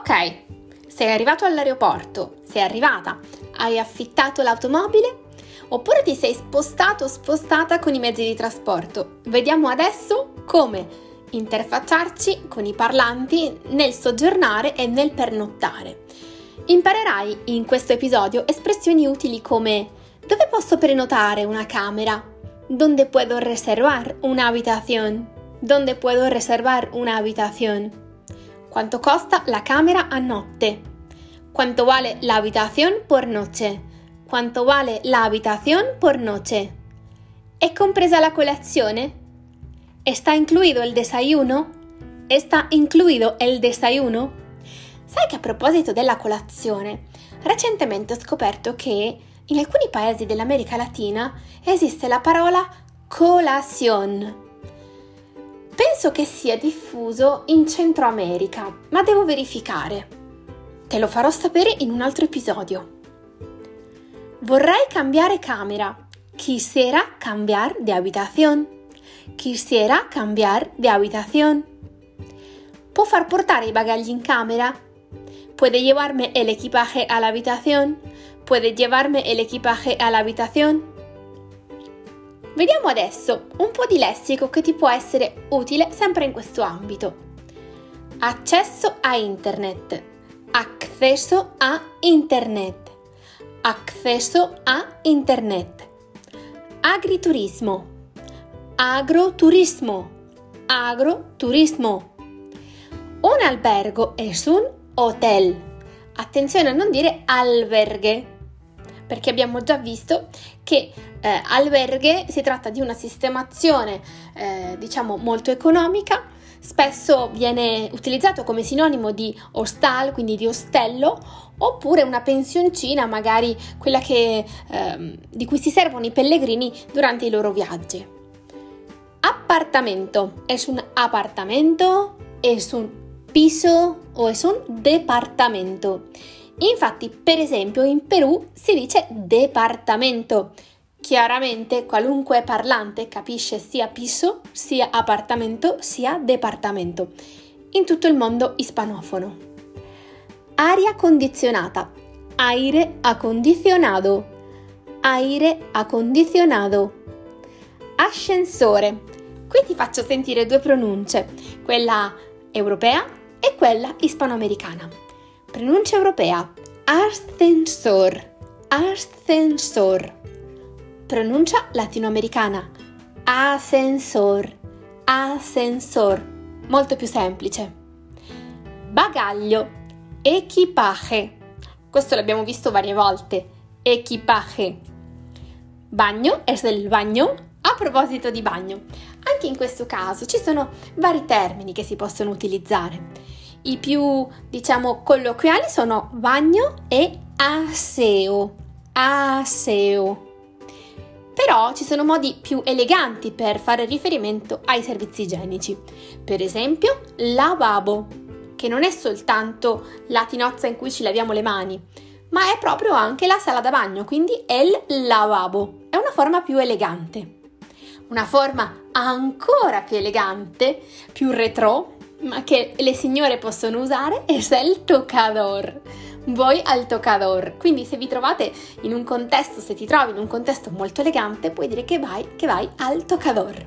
Ok, sei arrivato all'aeroporto, sei arrivata, hai affittato l'automobile oppure ti sei spostato o spostata con i mezzi di trasporto. Vediamo adesso come interfacciarci con i parlanti nel soggiornare e nel pernottare. Imparerai in questo episodio espressioni utili come: dove posso prenotare una camera? ¿Dónde puedo reservar una habitación? ¿Dónde puedo reservar una habitación? ¿Cuánto costa la camera a notte? ¿Cuánto vale la habitación por noche? ¿Cuánto vale la habitación por noche? ¿Es compresa la colazione? ¿Está incluido el desayuno? ¿Está incluido el desayuno? Sai che a proposito della colazione, recentemente ho scoperto che in alcuni paesi dell'America Latina esiste la parola colación. Penso che sia diffuso in Centro America, ma devo verificare. Te lo farò sapere in un altro episodio. Vorrei cambiare camera. Quisiera cambiar de habitación. Quisiera cambiar de habitación. ¿Puedo far portare i bagagli in camera? ¿Puede llevarme el equipaje a la habitación? ¿Puede llevarme el equipaje a la habitación? Vediamo adesso un po' di lessico che ti può essere utile sempre in questo ambito. Accesso a internet. Acceso a internet. Acceso a internet. Agriturismo. Agroturismo. Agroturismo. Un albergo es un hotel. Attenzione a non dire alberghe, perché abbiamo già visto che alberghe si tratta di una sistemazione molto economica, spesso viene utilizzato come sinonimo di hostal, quindi di ostello, oppure una pensioncina, magari quella di cui si servono i pellegrini durante i loro viaggi. Appartamento, es un apartamento, es un piso o es un departamento. Infatti, per esempio, in Perù si dice departamento. Chiaramente qualunque parlante capisce sia piso, sia appartamento, sia departamento. In tutto il mondo ispanofono. Aria condizionata. Aire acondicionado. Aire acondicionado. Ascensore. Qui ti faccio sentire due pronunce, quella europea e quella ispanoamericana. Pronuncia europea: ascensor, ascensor. Pronuncia latinoamericana: ascensor, ascensor. Molto più semplice. Bagaglio, equipaje. Questo l'abbiamo visto varie volte. Equipaje. Bagno es el bagno. A proposito di bagno, anche in questo caso ci sono vari termini che si possono utilizzare. I più, colloquiali sono bagno e aseo. Aseo. Però ci sono modi più eleganti per fare riferimento ai servizi igienici. Per esempio, lavabo, che non è soltanto la tinozza in cui ci laviamo le mani, ma è proprio anche la sala da bagno, quindi el lavabo. È una forma più elegante. Una forma ancora più elegante, più retro, ma che le signore possono usare, è il tocador. Voy al tocador. Quindi se ti trovi in un contesto molto elegante, puoi dire che vai al tocador.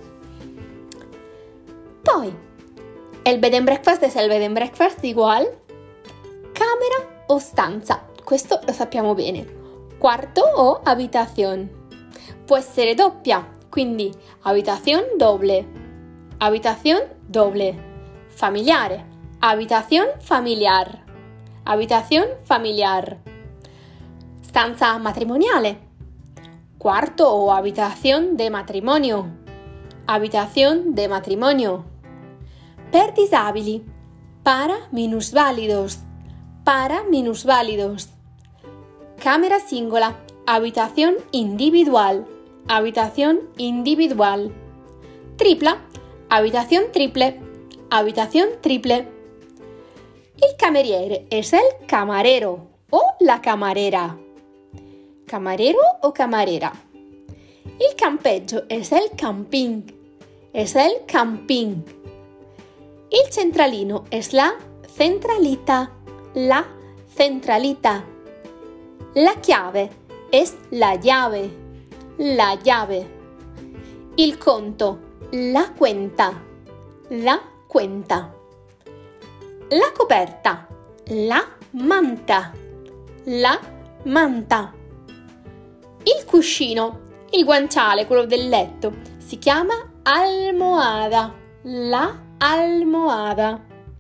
Poi, el bed and breakfast es el bed and breakfast igual. Camera o stanza, questo lo sappiamo bene. Quarto o habitación. Può essere doppia. Quindi habitación doble, habitación doble, familiare, habitación familiar, habitación familiar, stanza matrimoniale, cuarto o habitación de matrimonio, habitación de matrimonio, per disabili, para minusválidos, camera singola, habitación individual, habitación individual. Tripla, habitación triple, habitación triple. Il cameriere es el camarero o la camarera. Camarero o camarera. Il campeggio es el camping. Es el camping. Il centralino es la centralita, la centralita. La chiave es la llave, la llave. Il conto, la cuenta, la cuenta. La coperta, la manta, la manta. Il cuscino, il guanciale, quello del letto, si chiama almohada, la almohada.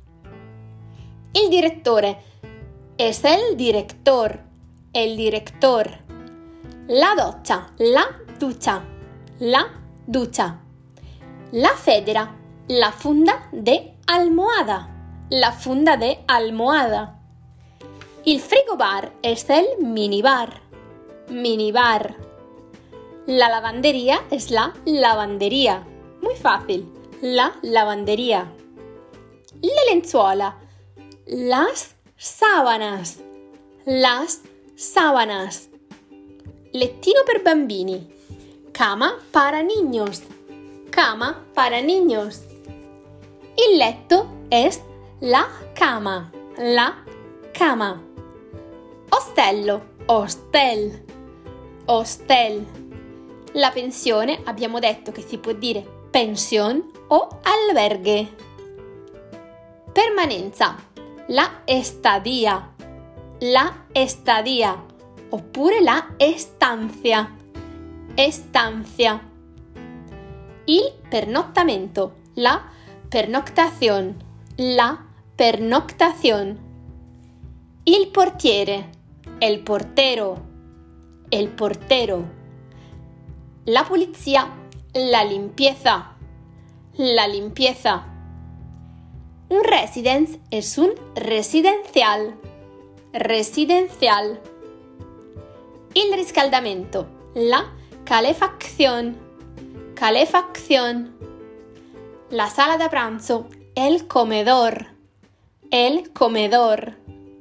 Il direttore, es el director, el director. La doccia, la ducha, la ducha. La federa, la funda de almohada, la funda de almohada. Il frigobar es el minibar, minibar. La lavandería es la lavandería. Muy fácil, la lavandería. La lenzuola, las sábanas, las sábanas. Lettino per bambini, cama para niños, cama para niños. Il letto es la cama, la cama. Ostello, hostel, hostel. La pensione abbiamo detto che si può dire pensión o albergue. Permanenza, la estadía, la estadía, oppure la estancia, estancia. Il pernottamento, la pernoctación, la pernoctación. Il portiere, el portero, el portero. La pulizia, la limpieza, la limpieza. Un residence es un residencial, residencial. Il riscaldamento, la calefacción, calefacción. La sala da pranzo, el comedor, el comedor.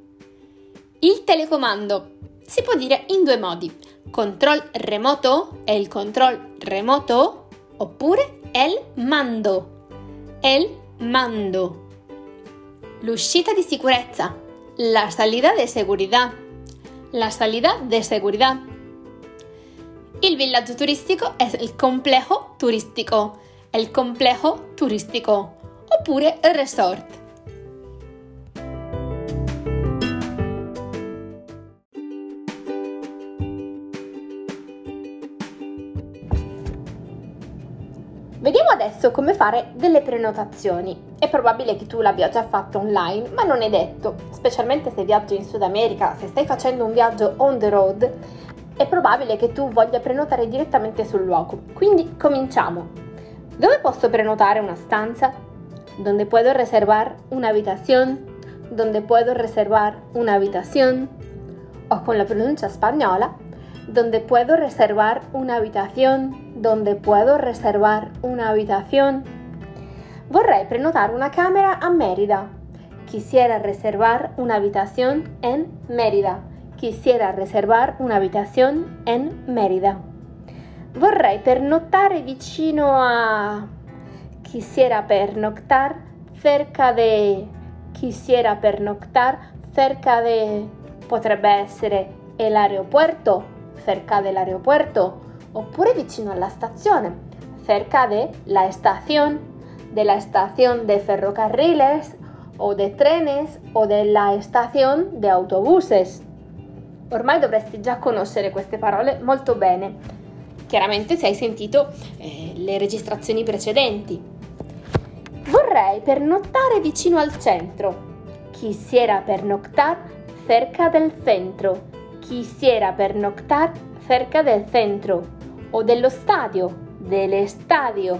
Il telecomando si può dire in due modi: control remoto, el control remoto, oppure el mando, el mando. L'uscita di sicurezza, la salida de seguridad, la salida de seguridad. Il villaggio turistico è il complejo turístico, el complejo turístico, oppure il resort. Vediamo adesso come fare delle prenotazioni. È probabile che tu l'abbia già fatto online, ma non è detto, specialmente se viaggi in Sud America, se stai facendo un viaggio on the road, è probabile che tu voglia prenotare direttamente sul luogo. Quindi cominciamo. Dove posso prenotare una stanza? ¿Dónde puedo reservar una habitación? ¿Dónde puedo reservar una habitación? O con la pronuncia spagnola, ¿dónde puedo reservar una habitación? ¿Dónde puedo reservar una habitación? Vorrei prenotare una camera a Mérida. Quisiera reservar una habitación en Mérida. Quisiera reservar una habitación en Mérida. Vorrei pernottare vicino a... Quisiera pernoctar cerca de... Quisiera pernoctar cerca de... Potrebbe essere el aeropuerto, cerca dell'aeropuerto, oppure vicino alla stazione, cerca de la estación de ferrocarriles o de trenes o della estación de autobuses. Ormai dovresti già conoscere queste parole molto bene, chiaramente se hai sentito le registrazioni precedenti. Vorrei pernottare vicino al centro. Quisiera pernoctar cerca del centro. Quisiera pernoctar cerca del centro. O dello stadio, dell'estadio,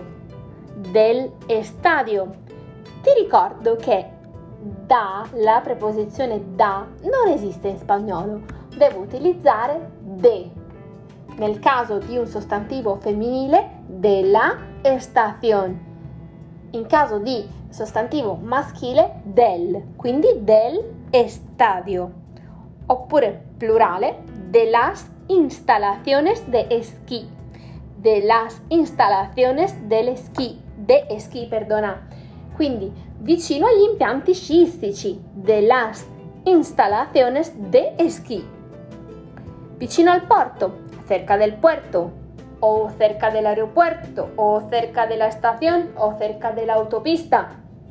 dell'estadio. Ti ricordo che da, la preposizione da, non esiste in spagnolo. Devo utilizzare de. Nel caso di un sostantivo femminile, della estación. In caso di sostantivo maschile, del, quindi del estadio. Oppure plurale, de las instalaciones de esquí. De las instalaciones del esquí, de esquí, perdona. quindi vicino agli impianti sciistici, de las instalaciones de esquí. Vicino al porto, cerca del puerto, o cerca del aeropuerto, o cerca della estación, o cerca dell'autopista.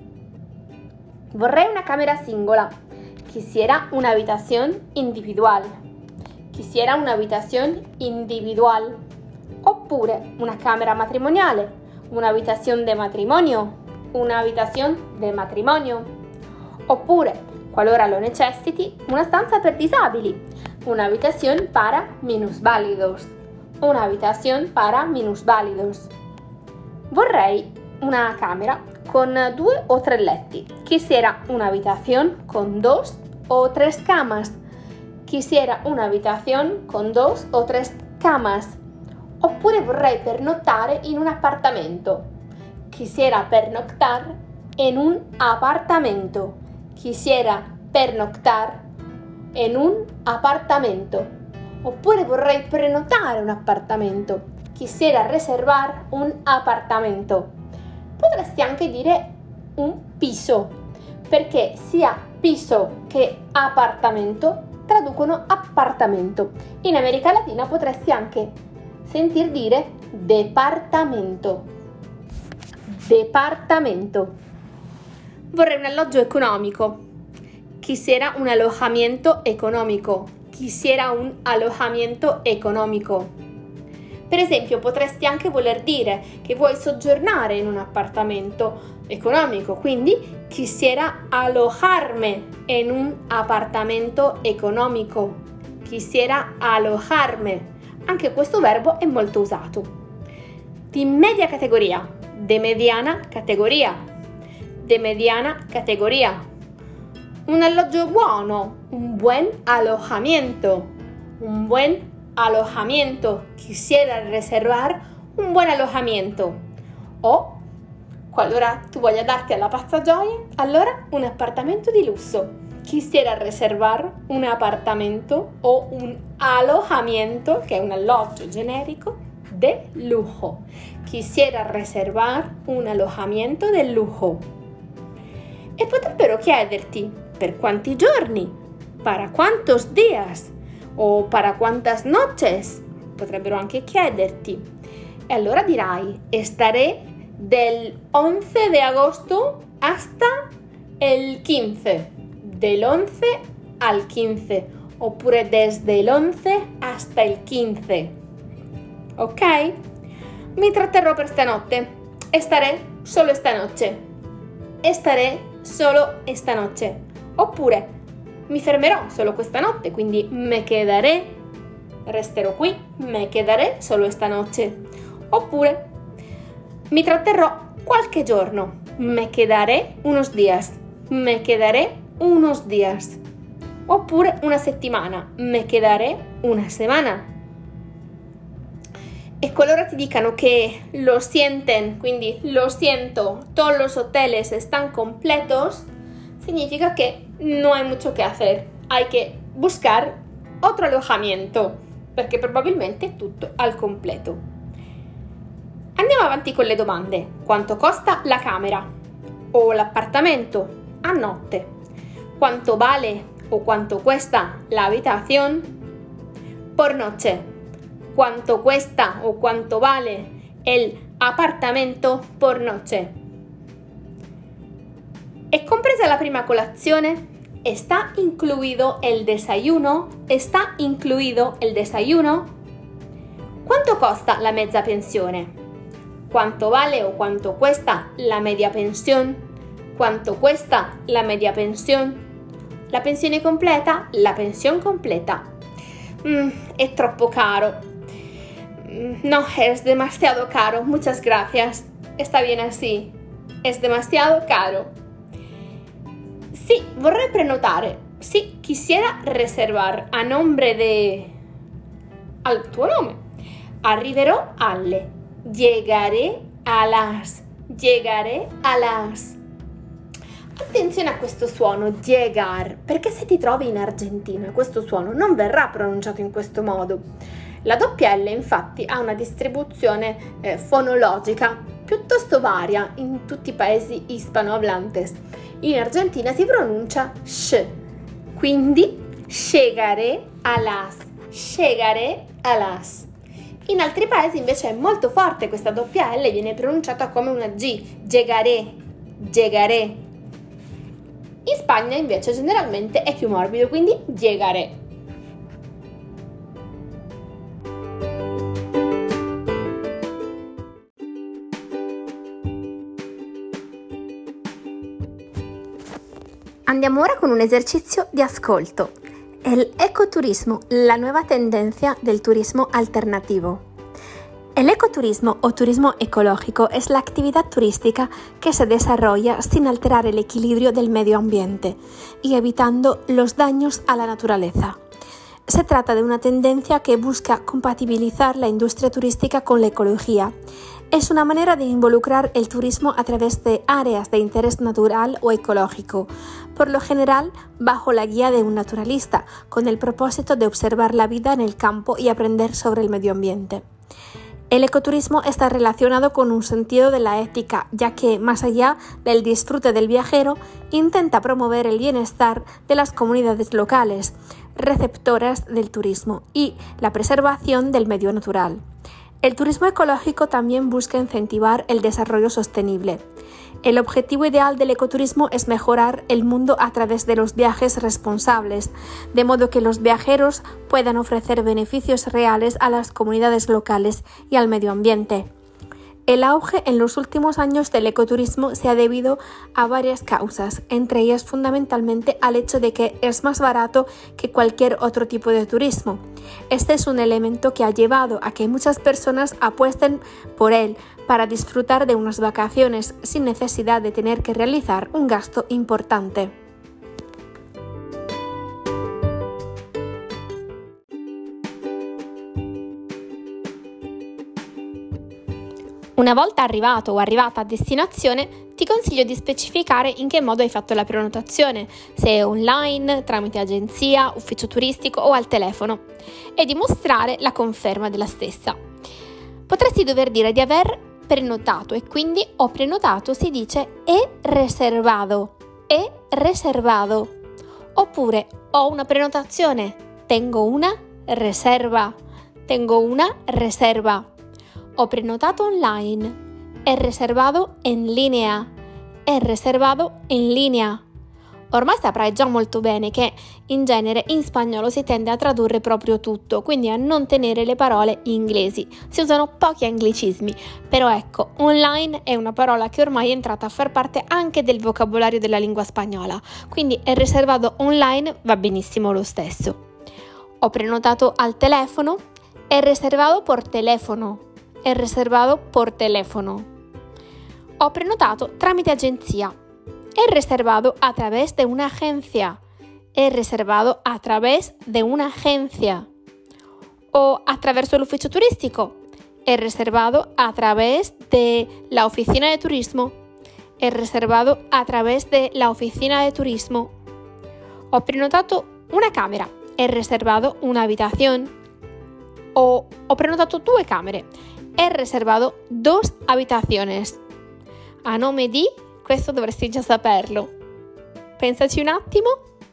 Vorrei una camera singola. Quisiera una habitación individual. Quisiera una habitación individual. Oppure una camera matrimoniale, una habitación de matrimonio, una habitación de matrimonio. Oppure, qualora lo necessiti, una stanza per disabili, una habitación para minusválidos. Una habitación para minusválidos. Vorrei una camera con 2 o 3 letti. Quisiera una habitación con 2 o 3 camas. Quisiera una habitación con 2 o 3 camas. Oppure vorrei pernottare in un appartamento. Quisiera pernoctar en un apartamento. Quisiera pernoctar en un apartamento. Oppure vorrei prenotare un appartamento. Quisiera reservar un apartamento. Potresti anche dire un piso, perché sia piso che appartamento traducono appartamento. In America Latina potresti anche sentir dire departamento. Departamento. Vorrei un alloggio economico. Quisiera un alojamiento economico. Quisiera un alojamiento economico. Per esempio, potresti anche voler dire che vuoi soggiornare in un appartamento economico, quindi quisiera alojarme en un apartamento economico. Quisiera alojarme. Anche questo verbo è molto usato. Di media categoria, de mediana categoria, de mediana categoria. Un alloggio buono, un buen alojamiento, un buen alojamiento. Quisiera reservar un buen alojamiento. O, qualora tu voglia darti alla pazza gioia, allora un appartamento di lusso. Quisiera reservar un appartamento o un alojamiento, che è un alloggio generico, de lujo. Quisiera reservar un alojamiento de lujo. E potrebbero chiederti per quanti giorni, para cuántos días o para cuántas noches. Potrebbero anche chiederti. E allora dirai, estaré del 11 de agosto hasta el 15. Del 11 al 15. Oppure desde el 11 hasta el 15. Ok? Mi tratterrò per stanotte. Estaré solo esta noche. Estaré solo esta noche. Oppure mi fermerò solo questa notte, quindi me quedaré, resterò qui, me quedaré solo esta noche. Oppure mi tratterrò qualche giorno, me quedaré unos días, me quedaré unos días. Oppure una settimana, me quedaré una semana. E qualora ti dicano che lo sienten, quindi lo siento, todos los hoteles están completos, significa que no hay mucho que hacer. Hay que buscar otro alojamiento, perché probabilmente è tutto al completo. Andiamo avanti con le domande. Quanto costa la camera o l'appartamento a notte? Quanto vale o quanto cuesta la habitación por noche? Quanto cuesta o quanto vale el apartamento por noche? ¿Es compresa la prima colazione? ¿Está incluido el desayuno? ¿Está incluido el desayuno? ¿Cuánto costa la mezza pensione? ¿Cuánto vale o cuánto cuesta la media pensión? ¿Cuánto cuesta la media pensión? ¿La pensione completa? La pensión completa. Es troppo caro. No, es demasiado caro. Muchas gracias. Está bien así. Es demasiado caro. Sí, vorrei prenotare. Sí, quisiera reservar a nombre de... al tuo nome. Arriverò alle. Llegaré a las. Llegaré a las. Attenzione a questo suono, llegar, perché se ti trovi in Argentina questo suono non verrà pronunciato in questo modo. La doppia L infatti ha una distribuzione fonologica piuttosto varia in tutti i paesi hispanohablantes. In Argentina si pronuncia sh, quindi llegaré a las, llegaré a las. In altri paesi invece è molto forte questa doppia L, viene pronunciata come una G, llegaré, llegaré. In Spagna invece generalmente è più morbido, quindi llegaré. Andiamo ora con un esercizio di ascolto. El ecoturismo, la nueva tendencia del turismo alternativo. El ecoturismo o turismo ecológico es la actividad turística que se desarrolla sin alterar el equilibrio del medio ambiente y evitando los daños a la naturaleza. Se trata de una tendencia que busca compatibilizar la industria turística con la ecología. Es una manera de involucrar el turismo a través de áreas de interés natural o ecológico, por lo general bajo la guía de un naturalista, con el propósito de observar la vida en el campo y aprender sobre el medio ambiente. El ecoturismo está relacionado con un sentido de la ética, ya que, más allá del disfrute del viajero, intenta promover el bienestar de las comunidades locales, receptoras del turismo, y la preservación del medio natural. El turismo ecológico también busca incentivar el desarrollo sostenible. El objetivo ideal del ecoturismo es mejorar el mundo a través de los viajes responsables, de modo que los viajeros puedan ofrecer beneficios reales a las comunidades locales y al medio ambiente. El auge en los últimos años del ecoturismo se ha debido a varias causas, entre ellas fundamentalmente al hecho de que es más barato que cualquier otro tipo de turismo. Este es un elemento que ha llevado a que muchas personas apuesten por él para disfrutar de unas vacaciones sin necesidad de tener que realizar un gasto importante. Una volta arrivato o arrivata a destinazione, ti consiglio di specificare in che modo hai fatto la prenotazione, se è online, tramite agenzia, ufficio turistico o al telefono, e di mostrare la conferma della stessa. Potresti dover dire di aver prenotato e quindi ho prenotato si dice he reservado, oppure ho una prenotazione, tengo una reserva. Ho prenotato online, he reservado en línea, Ormai saprai già molto bene che in genere in spagnolo si tende a tradurre proprio tutto, quindi a non tenere le parole inglesi. Si usano pochi anglicismi, però ecco, online è una parola che ormai è entrata a far parte anche del vocabolario della lingua spagnola, quindi he reservado online va benissimo lo stesso. Ho prenotato al telefono, he reservado por teléfono. Ho prenotato tramite agenzia. He reservado a través de una agencia. O attraverso l'ufficio turistico. He reservado a través de la oficina de turismo. Ho prenotato una camera. He reservado una habitación. O ho prenotato 2 camere. He reservado 2 habitaciones. A nome di, questo dovresti già saperlo. Pensaci un attimo.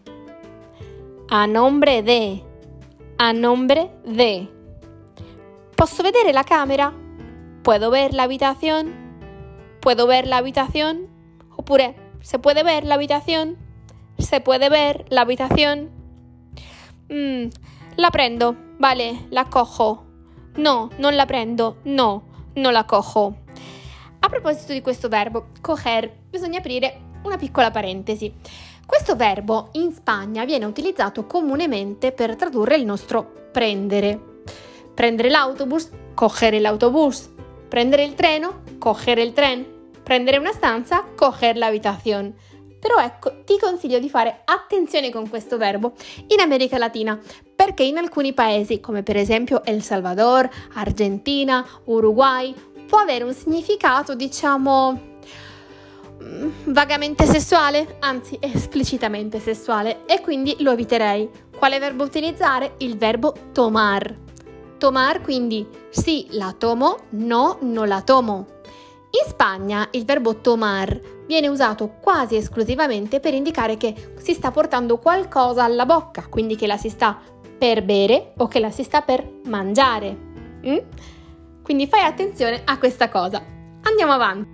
A nombre de. Posso vedere la camera? ¿Puedo ver la habitación? Oppure, ¿se puede ver la habitación? La prendo. Vale, la cojo. No, non la prendo. No, non la cojo. A proposito di questo verbo, coger, bisogna aprire una piccola parentesi. Questo verbo in Spagna viene utilizzato comunemente per tradurre il nostro prendere. Prendere l'autobus, coger l'autobus. Prendere il treno, coger il tren. Prendere una stanza, coger la habitación. Però ecco, ti consiglio di fare attenzione con questo verbo in America Latina, perché in alcuni paesi, come per esempio El Salvador, Argentina, Uruguay, può avere un significato, vagamente sessuale, anzi esplicitamente sessuale, e quindi lo eviterei. Quale verbo utilizzare? Il verbo tomar. tomar, quindi sì, la tomo, no, non la tomo. In Spagna il verbo tomar viene usato quasi esclusivamente per indicare che si sta portando qualcosa alla bocca, quindi che la si sta per bere o che la si sta per mangiare. Quindi fai attenzione a questa cosa. Andiamo avanti.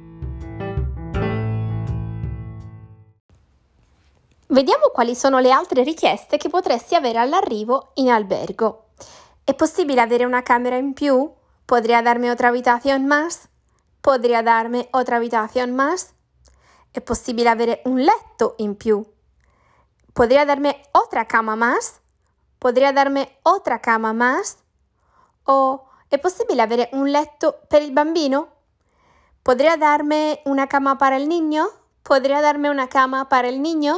Vediamo quali sono le altre richieste che potresti avere all'arrivo in albergo. ¿Es posible avere una camera in più? ¿Podría darme otra habitación más? ¿Podría darme otra habitación más? ¿Es posible avere un letto in più? ¿Podría darme otra cama más? ¿Podría darme otra cama más? ¿O è possibile avere un letto per il bambino? ¿Podría darme una cama para el niño? ¿Podría darme una cama para el niño?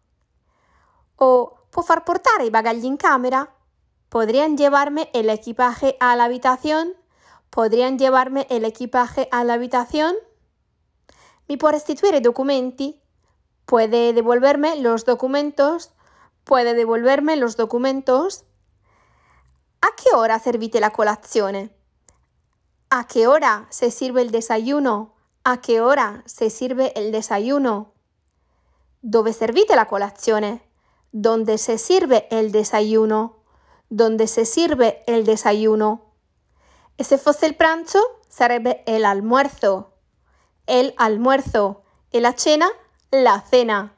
¿O può far portare i bagagli in camera? ¿Podrían llevarme el equipaje a la habitación? ¿Podrían llevarme el equipaje a la habitación? ¿Mi può restituire i documenti? ¿Puede devolverme los documentos? ¿Puede devolverme los documentos? ¿A qué hora servite la colazione? ¿A qué hora se sirve el desayuno? ¿A qué hora se sirve el desayuno? ¿Dove servite la colazione? ¿Dónde se sirve el desayuno? ¿Dónde se sirve el desayuno? E se fosse il pranzo, sarebbe el almuerzo. El almuerzo. E la cena, la cena.